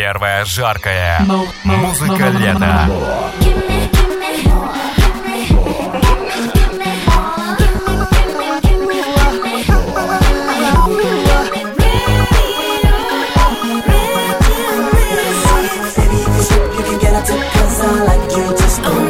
Первая жаркая музыка лета. Cause I like you just the way